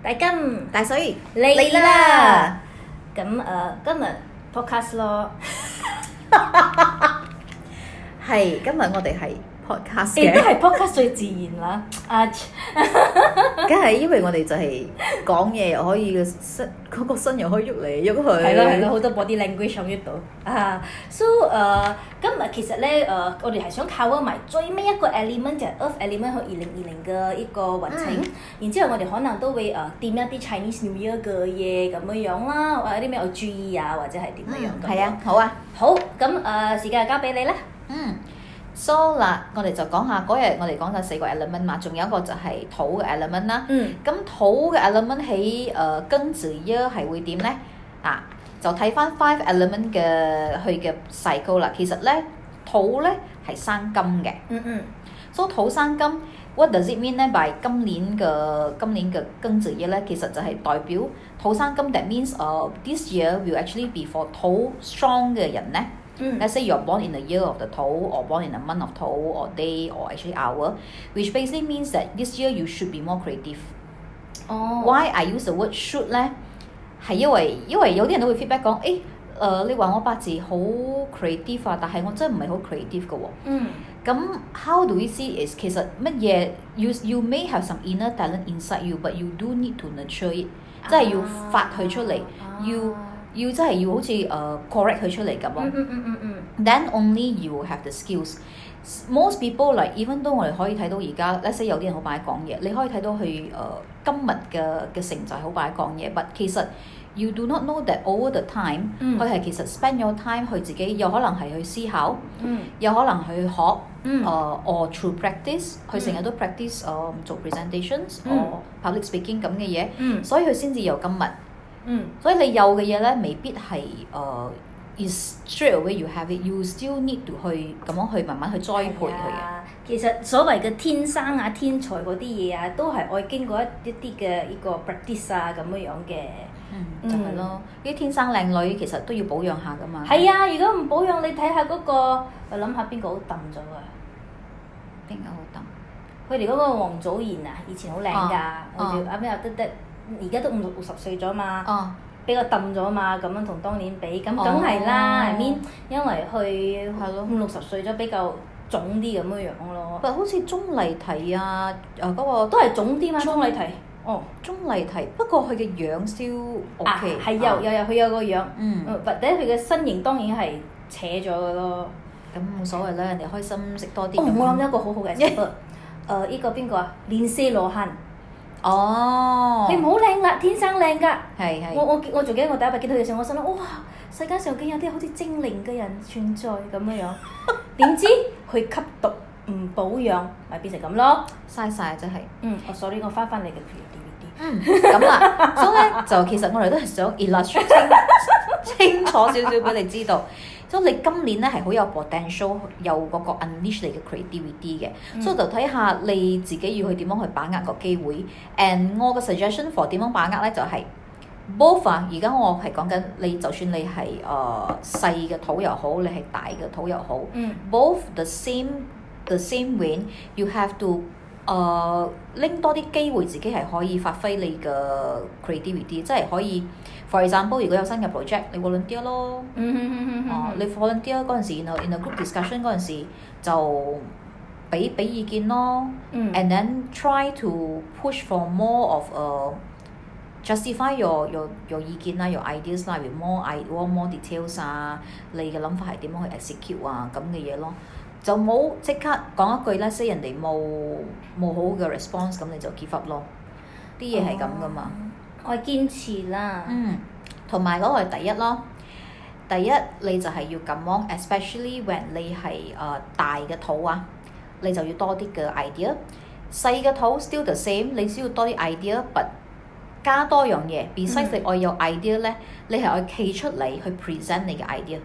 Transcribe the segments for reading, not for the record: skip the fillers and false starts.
大金大水嚟啦！咁今日 podcast 咯， 係今日我哋係 podcast 亦都嘅， 係 podcast 最自然啦。 梗係因為我哋就係講嘢又可以嗰個身又可以喐嚟喐去。 係咯，好多 body language 喺呢度啊。So 今日其實咧我哋係想 cover 埋最尾一個 element 就係 Earth element 去2020嘅一個運程。然之後我哋可能都會掂一啲 Chinese New Year 嘅嘢咁樣樣啦，或者有啲咩要注意啊，或者係點樣樣。 係啊，好啊。 好，咁時間就交俾你啦。 So 嗱，我哋就講下嗰日我哋講咗4個 element 嘛，仲有一個就係土嘅 element 啦。咁土嘅 element 喺庚子year係會點咧？就睇翻 5 element 嘅佢嘅 cycle 啦。其實咧土咧係生金嘅。So 土生金 ，what does it mean 咧？by 今年嘅庚子year咧，其實就係代表土生金。That means this year will actually be for 土 strong 嘅人咧。Let's say you're born in the year of the 土 or born in a month of 土 or day or actually hour, which basically means that this year you should be more creative. Why I use the word should 咧？係因為有啲人都會 feedback 講，你話我八字好 creative 啊，但係我真係唔係好 creative 嘅喎。咁 how do we see is 其實乜嘢 you may have some inner talent inside you, but you do need to nurture it，即係要發佢出嚟，要真係要好似correct 佢出嚟咁咯。Then only you will have the skills. Most people like even though 我哋可以睇到而家 let's say 有啲人好擺講嘢，你可以睇到佢今日嘅成就係好擺講嘢，but 其實 you do not know that over the time 佢係其實 spend your time 去自己有可能係去思考，有可能去學or through practice 佢成日都 practice 做 presentations or public speaking 咁嘅嘢，所以佢先至有今日。所以你有嘅嘢咧，未必係is straight away you have it， you still need to 去咁樣去慢慢去栽培佢嘅。 其實所謂嘅天生啊、天才嗰啲嘢啊，都係愛經過一啲嘅呢個 practice 啊咁樣樣嘅。 就係咯，啲天生靚女其實都要保養下噶嘛。 係啊，如果唔保養，你睇下嗰個，我諗下邊個好揼咗啊？ 邊個好揼？ 佢哋嗰個王祖賢啊，以前好靚㗎，我哋啱啱又得，而家都50歲咗嘛。比較揼咗嘛，咁樣同當年比，咁梗係啦，I mean，因為佢50-60歲咗比較腫啲咁樣樣咯。 好似鐘麗緹啊，嗰個都係腫啲嘛，鐘麗緹。 鐘麗緹，不過佢嘅樣still OK。 係有佢有個樣，或者佢嘅身形當然係扯咗嘅咯。 咁冇所謂啦，人哋開心食多啲。 我諗一個好好嘅 example，呢個邊個啊？連詩羅漢。佢唔好靚啦，天生靚㗎。 係。 我仲記得我第一日見到佢嘅時候，我心諗哇，世界上竟有啲好似精靈嘅人存在咁樣樣。點知佢吸毒唔保養，咪變成咁咯， 嘥晒真係。 sorry， 我翻你嘅 creativity。 咁啦，所以咧就其實我哋都係想 illustrate 清楚少少俾你知道。所以你今年咧係好有 potential， 有嗰個 unleash 你嘅 creativity 嘅，所以就睇下你自己要去點樣去把握個機會。And 我嘅 suggestion for 點樣把握咧就係 both 啊！而家我係講緊你，就算你係細嘅土又好，你係大嘅土又好，both the same way you have to 拎多啲機會，自己係可以發揮你嘅 creativity， 即係可以 for example， 如果有新嘅 project， 你 volunteer 咯。你 volunteer 嗰陣時，然後 in a group discussion 嗰陣時就俾意見咯。And then try to push for more of justify your 意見啦，your ideas 啦，with more details 啊，你嘅諗法係點樣去 execute 啊咁嘅嘢咯。就冇即刻講一句咧，say 人哋冇好嘅 response， 咁你就 give up 咯。啲嘢係咁噶嘛。 我堅持啦。 同埋嗰個係第一咯。第一你就係要咁樣 especially when 你係大嘅土啊，你就要多啲嘅 idea。細嘅土 still the same， 你需要多啲 idea，but 加多樣嘢。besides 你愛有 idea 咧，你係愛企出嚟去 present 你嘅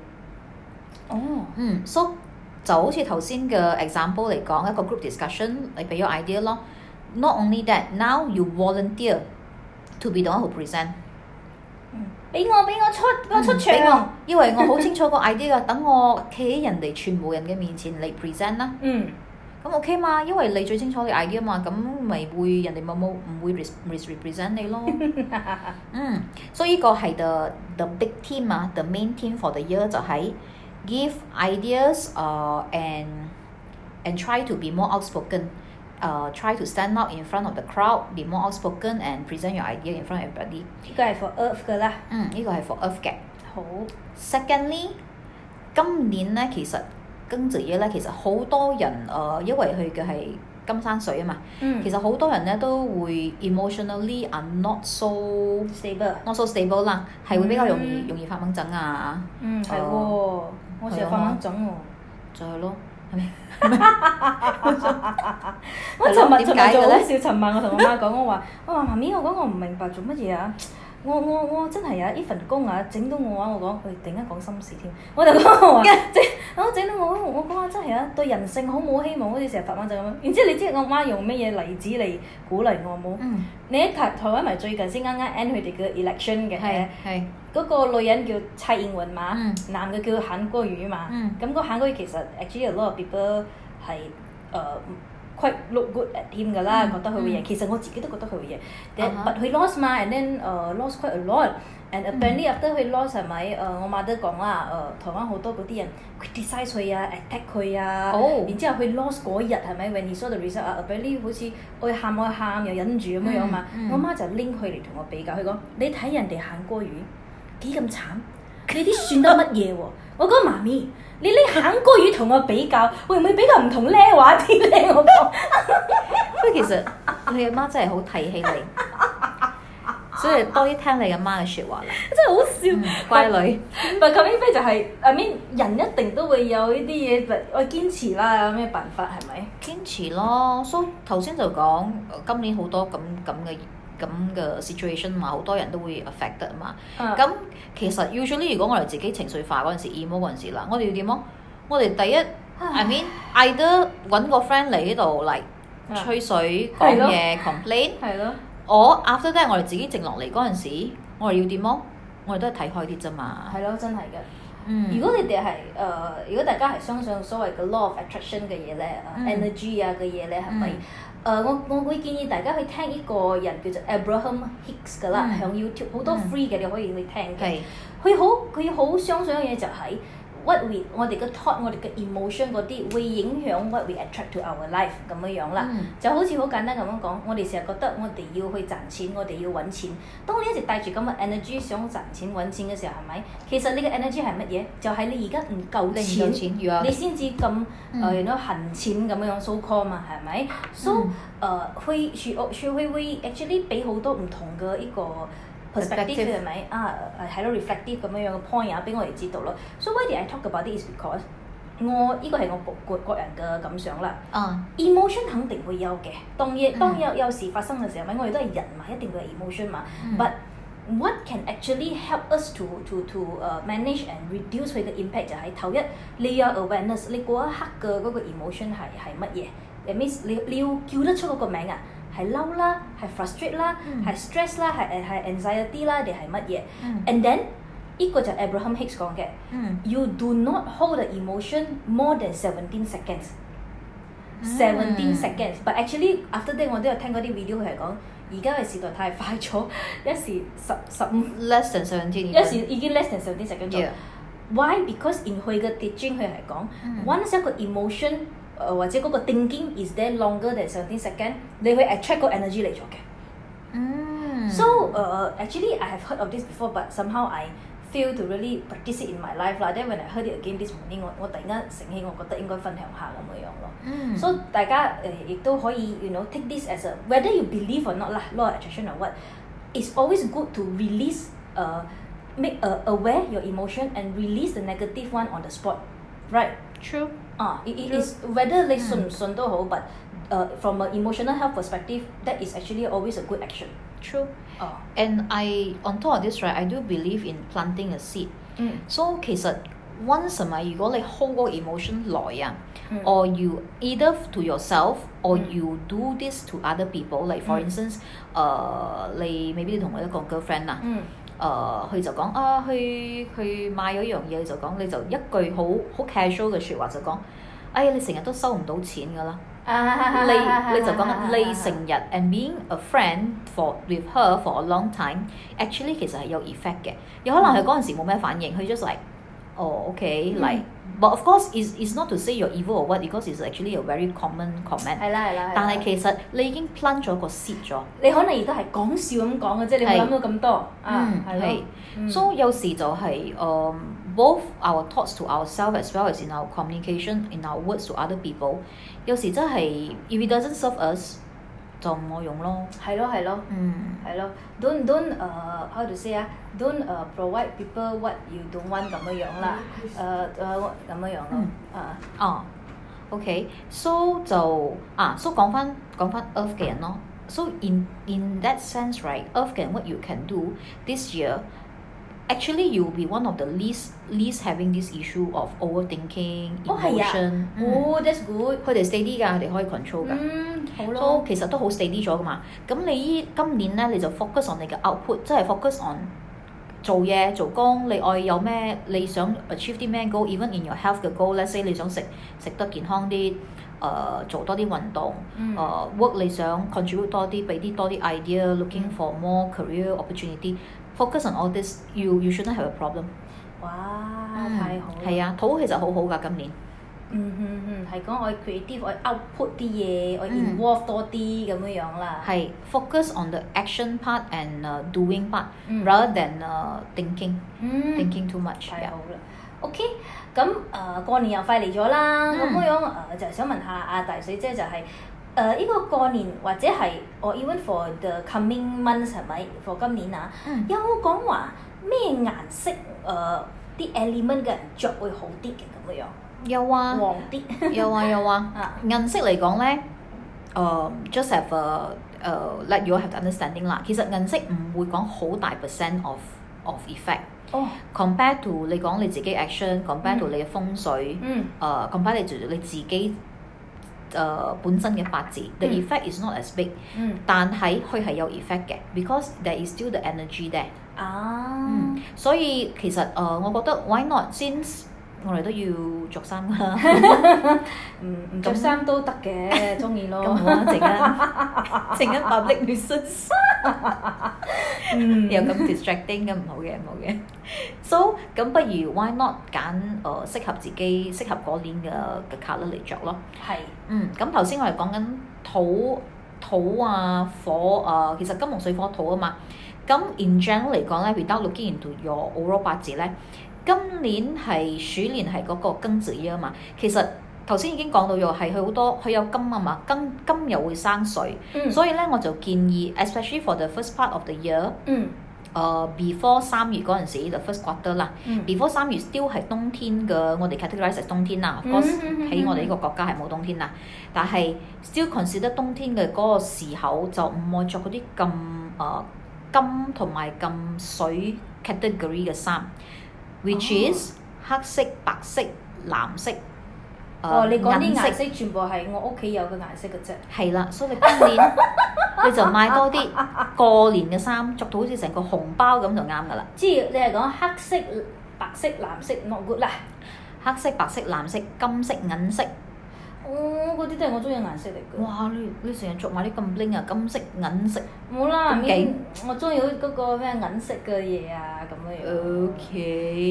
idea。so 就好似頭先嘅 example 嚟講，一個 group discussion， 你俾咗 idea 咯。Not only that, now you volunteer to be the one who present。 俾我出場。 因為我好清楚個 idea 㗎，等我企喺人哋全部人嘅面前嚟 present 啦。 咁 OK 嘛，因為你最清楚你 idea 嘛，咁咪會人哋唔會 represent 你咯。所以呢個係 the big theme 啊 ，the main theme for the year 就係 give ideas and try to be more outspoken. Try to stand out in front of the crowd, be more outspoken and present your idea in front of everybody. 呢個係 for Earth 㗎啦。 呢個係 for Earth 嘅。 好。 Secondly， 今年咧其實庚子夜咧其實好多人因為佢嘅係金山水啊嘛，其實好多人咧都會 emotionally are not so stable 啦，係會比較容易發猛疹啊。 係喎，我成日發猛疹喎。 就係咯。係咪？ 我尋日就好笑，尋晚我同我媽講，我話媽咪，我講我唔明白做乜嘢啊！我真係啊！呢份工啊，整到我啊！我講佢突然間講心事添，我就講我話整到我講話真係啊，對人性好冇希望，好似成日發猛陣咁樣。然之後你知我媽用乜嘢例子嚟鼓勵我冇？你喺台灣咪最近先啱啱 end 佢哋嘅 election 嘅，係嗰個女人叫蔡英文嘛，男嘅叫韓國瑜嘛。咁個韓國瑜其實 actually a lot of people 係quite look good at him 㗎啦，覺得佢會贏。其實我自己都覺得佢會贏。But 佢 lost 嘛 ，and then lost quite a lot。And apparently after 佢 lost 係咪？我媽都講啦，台灣好多嗰啲人 criticize 佢啊 ，attack 佢啊。然之後佢 lost 嗰日係咪 ？When he saw the result 啊 ，apparently 好似愛喊又忍住咁樣樣嘛。我媽就拎佢嚟同我比較，佢講：你睇人哋韓國瑜幾咁慘，你啲算得乜嘢喎？我講媽咪。你拎韓國瑜同我比較，會唔會比較唔同呢話啲咧？我講， 不過其實你阿媽真係好睇起你，所以多啲聽你阿媽嘅説話啦。 真係好笑， 乖女。 但係 coming back 就係，I mean 人一定都會有呢啲嘢，我堅持啦，有咩辦法係咪？ 堅持咯，所以頭先就講今年好多咁嘅 situation 嘛，好多人都會 affected 嘛。咁其實 usually 如果我哋自己情緒化嗰陣時 emo 嗰陣時啦，我哋要點啊？我哋第一 I mean either 揾個 friend 嚟呢度嚟吹水講嘢 complain， 我 after that 我哋自己靜落嚟嗰陣時，我哋要點啊？我哋都係睇開啲啫嘛。 係咯，真係嘅。如果你哋係如果大家係相信所謂嘅 law of attraction 嘅嘢咧，energy 啊嘅嘢咧，係咪？我會建議大家去聽呢個人叫做 Abraham Hicks 㗎啦，響 YouTube 好多 free 嘅，你可以去聽嘅。佢好相信一樣嘢就係 what we 我哋嘅 thought 我哋嘅 emotion 嗰啲會影響 what we attract to our life 咁樣啦。就好似好簡單咁樣講，我哋成日覺得我哋要去賺錢，我哋要揾錢。當你一直帶住咁嘅 energy 想賺錢揾錢嘅時候，係咪？其實你嘅 energy 係乜嘢？就係你而家唔夠錢，你先至咁恨錢咁樣 so call 嘛，係咪？So 會 actually 俾好多唔同嘅呢個 perspective 係咪係咯 reflective 咁樣嘅 point 啊，俾我哋知道咯。So why did I talk about this? Because 呢個係我個人嘅感想啦。emotion 肯定會有嘅，當有事發生嘅時候，咪我哋都係人嘛，一定會有 emotion 嘛。But what can actually help us to manage and reduce 佢嘅 impact 就係頭一，你有 awareness， 你嗰一刻嘅嗰個 emotion 係乜嘢？ That means 你要叫得出嗰個名啊！係嬲啦，係 frustrate 啦，係 stress 啦，係 anxiety 啦，定係乜嘢 ？And then 呢個就 Abraham Hicks 講嘅，You do not hold the emotion more than 17 seconds。17 seconds， but actually after that 我都有聽嗰啲 video 佢係講，而家嘅時代太快咗，一時15 less than 17， 一時已經 less than 17 seconds 咗。Why? Because in 佢嘅 teaching 佢係講，once 一個 emotion或者嗰個 thinking is there longer than 17 seconds， 你會 attract 個 energy 嚟咗嘅。So actually I have heard of this before, but somehow I fail to really practice it in my life 啦。Then when I heard it again this morning， 我突然間醒起，我覺得應該分享下咁樣咯。So 大家亦都可以 take this as a whether you believe or not 啦 ，law of attraction or what, it's always good to release make aware your emotion and release the negative one on the spot, right? True. It is whether 你信唔信都好 but from an emotional health perspective, that is actually always a good action. True. And on top of this, right, I do believe in planting a seed. So 其實 once 係咪如果你 hold 嗰個 emotion 耐啊，or you either to yourself or you do this to other people, like for instance，你maybe你同我一個 girlfriend 啊。佢就講佢買咗一樣嘢就講，你就一句好 casual 嘅説話就講，哎呀你成日都收唔到錢㗎啦， 你就講緊你成日 and being a friend with her for a long time actually 其實係有 effect 嘅。有可能佢嗰陣時冇咩反應，佢 just like okay but of course is not to say you're evil or what because it's actually a very common comment。 係啦。 但係其實你已經 plant 咗個 seed 咗。 你可能而家係講笑咁講嘅啫，你冇諗到咁多。係。 So 有時就係both our thoughts to ourselves as well as in our communication, in our words to other people， 有時真係 if it doesn't serve us， 就唔好用咯。 係咯。Don't how to say don't provide people what you don't want 咁樣樣啦。咁樣樣咯。 OK， so 就so 講翻 Earth 嘅人咯。So in that sense, right, Earth 嘅人 what you can do this year。Actually, you will be one of the least having this issue of overthinking, emotion。 that's good。 佢哋 steady 㗎，佢哋可以 control 㗎。 好咯。 So 其實都好 steady 咗㗎嘛。咁你今年咧，你就 focus on 你嘅 output， 即係 focus on 做嘢做工。你愛有咩？你想 achieve 啲咩 goal？Even in your health 嘅 goal，let's say 你想食得健康啲，做多啲運動，work 你想 contribute 多啲，俾多啲 idea，looking for more career opportunity。Focus on all this, you shouldn't have a problem。 哇，太好啦！ 係啊，土其實好好㗎，今年。 係講我 creative，我 output 啲嘢，我 involve 多啲咁樣樣啦。 係 focus on the action part and doing part rather than thinking too much。 太好啦。OK， 咁過年又快嚟咗啦，咁樣就想問下阿大水姐就係。呢個過年或者係even for the coming months 係咪 for 今年有冇講話咩顏色啲 element 嘅人着會好啲嘅咁樣？ 有啊， 黃啲。有啊。顏色嚟講咧，just have let you have understanding 啦。其實顏色唔會講好大 percent of effect。compare to 你講你自己 action，compare to 你嘅風水，compare to 你自己。本身嘅八字 ，the effect is not as big，但係佢係有 effect 嘅 ，because there is still the energy there。所以其實我覺得 why not？ since 我哋都要着衫㗎啦， 唔着衫都得嘅，中意咯。 咁好啊，陣間 public nuisance， 又咁 distracting 咁唔好嘅。So 咁不如 why not 揀適合自己、適合嗰年嘅 colour 嚟着咯。 係。 咁頭先我哋講緊土啊火其實金木水火土啊嘛。咁 in general 嚟講咧 ，without looking into your overall 八字咧。今年係鼠年係嗰個庚子月啊嘛，其實頭先已經講到咗係佢好多佢有金啊嘛，金又會生水，所以咧我就建議 especially for the first part of the year，before 3月嗰陣時 the first quarter 啦，before 3月 still 係冬天嘅，我哋 categorize as 冬天啦，喺我哋呢個國家係冇冬天啦，但係 still consider 冬天嘅嗰個時候就唔愛着嗰啲咁金同埋咁水 category 嘅衫。Which is 黑色、白色、藍色。 你講啲顏色全部係我屋企有嘅顏色嘅啫。係啦，所以你今年你就買多啲過年嘅衫，着到好似成個紅包咁就啱㗎啦。 即係你係講黑色、白色、藍色 not good 啦。 黑色、白色、藍色、金色、銀色。 嗰啲都係我中意嘅顏色嚟嘅。 哇！你成日着埋啲咁 bling 啊，金色、銀色。 冇啦，咁勁！我中意嗰個咩銀色嘅嘢啊，咁樣樣。 OK。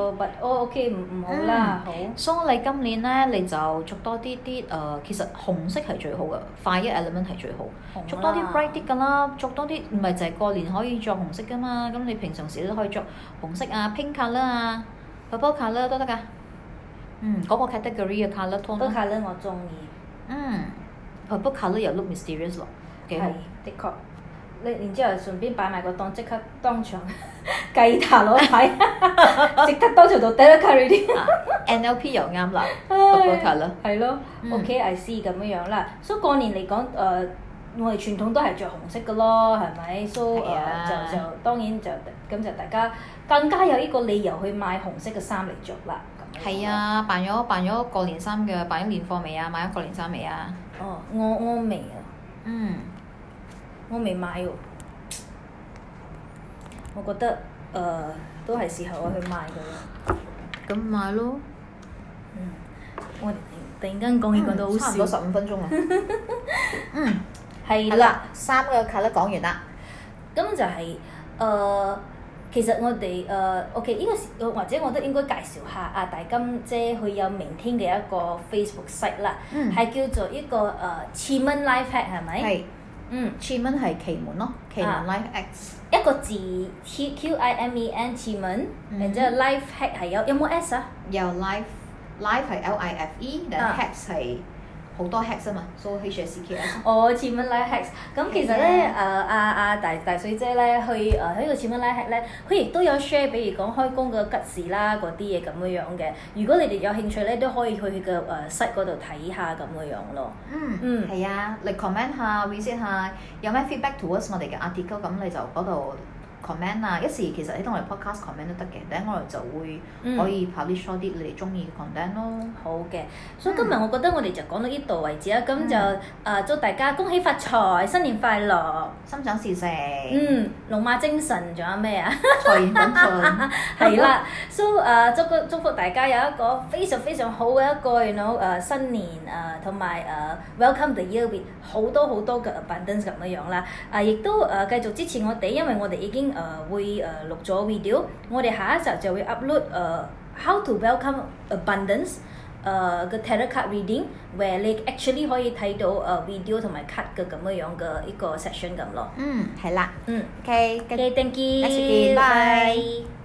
OK 唔好啦，好。 所以你今年咧，你就着多啲其實紅色係最好嘅 ，fire element 係最好。着多啲 bright 啲㗎啦，着多啲唔係就係過年可以着紅色㗎嘛，咁你平常時都可以着紅色啊、pink colour 啊、purple colour 都得㗎。嗰個 category 嘅 colour tone。 purple colour 我中意。 purple colour 又 look mysterious 咯，幾好。 的確。你然之後順便擺埋個檔，即刻當場計塔攞睇，即刻當場就第一 carry 啲。 NLP 又啱啦 ，purple colour。 係咯，OK，I see 咁樣樣啦。所以過年嚟講，我哋傳統都係着紅色嘅咯，係咪？所以就當然就咁就大家更加有呢個理由去買紅色嘅衫嚟着啦。 係啊，辦咗過年衫嘅，辦咗年貨未啊？買咗過年衫未啊？ 我未啊。我未買喎。我覺得都係時候我去買嘅啦。 咁買咯。 突然間講到好差唔多笑。 15分鐘啦。 係啦， 3個 colour 講完啦。 咁就係其實我哋OK 呢個時或者我都應該介紹下阿大金姐佢有明天嘅一個 Facebook site 啦，係叫做一個Qimen Life Hack 係咪？ 係。Qimen 係奇門咯，奇門 Life X。 一個字 QIMEN Qimen，然之後 Life Hack 係有冇 S 啊？ 有 life 係 LIFE，但 hacks 係好多 hacks 啊嘛，所以 HACKS。 Qimen Life Hacks。咁其實咧，大水姐咧，去喺個Qimen Life Hack 咧，佢亦都有 share，比如講開工嘅吉事啦，嗰啲嘢咁樣嘅。如果你哋有興趣咧，都可以去佢嘅site 嗰度睇下咁樣咯。 係啊，你 comment 下 visit 下，有咩 feedback towards 我哋嘅 article， 咁你就嗰度 comment 啊，一時其實喺同我哋 podcast comment 都得嘅，等我哋就會可以 publish 多啲你哋中意嘅 content 咯。 好嘅，所以今日我覺得我哋就講到呢度為止啦，咁就祝大家恭喜發財，新年快樂， 心想事成。 龍馬精神，仲有咩啊？ 財源滾滾。 係啦，so 祝福大家有一個非常非常好嘅一個新年同埋welcome the year with 好多嘅 abundance 咁樣啦。亦都繼續支持我哋，因為我哋已經會錄咗 video， 我哋下一集就會 upload how to welcome abundance 個 tarot card reading，where 你 actually 可以睇到video 同埋 card 嘅咁樣嘅一個 section 咁咯。 係啦。OK， thank you， 下次見，拜。